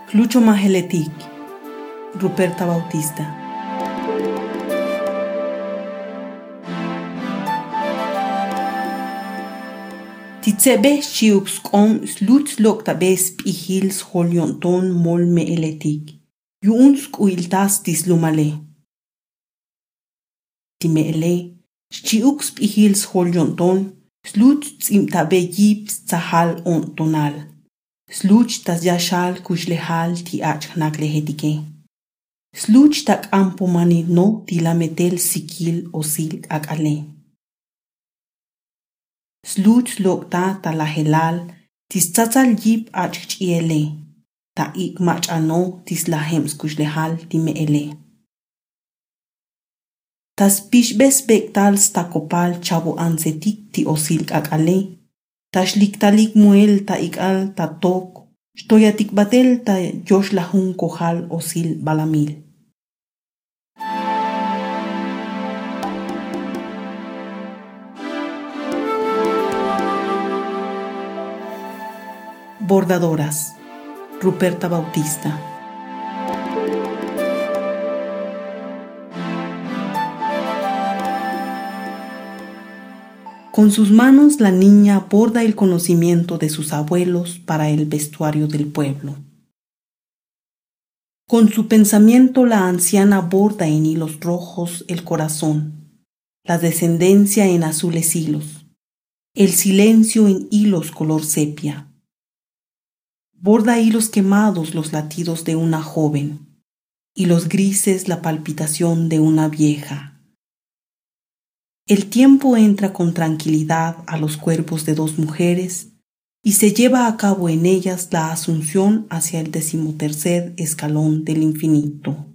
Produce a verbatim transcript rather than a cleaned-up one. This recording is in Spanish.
Clucho Maheletic, Ruperta Bautista. Titsebe chiups com sluts lokta bes pihils holionton mol me eletik. Yuunsk uiltas tislumale. Timele, chiups pihils holionton, sluts imtabe yips tsahal on tonal. Sluch tas yashal kushlehal ti achnaklehedike. Sluch tak ampomani no tilametel sikil osil akale. Sluch lokta talahelal tis tsatsal yip achchiele. Ta ik mach ano tis lahems kushlehal ti meele. Tas pishbes bektal stakopal chabo ansetik ti osil akale. Tashliktalik muel ta ikal ta tok, stoyatik batel ta yosh lahun kohal osil balamil. Bordadoras, Ruperta Bautista. Con sus manos la niña borda el conocimiento de sus abuelos para el vestuario del pueblo. Con su pensamiento la anciana borda en hilos rojos el corazón, la descendencia en azules hilos, el silencio en hilos color sepia. Borda hilos quemados los latidos de una joven, y los grises la palpitación de una vieja. El tiempo entra con tranquilidad a los cuerpos de dos mujeres y se lleva a cabo en ellas la asunción hacia el decimotercer escalón del infinito.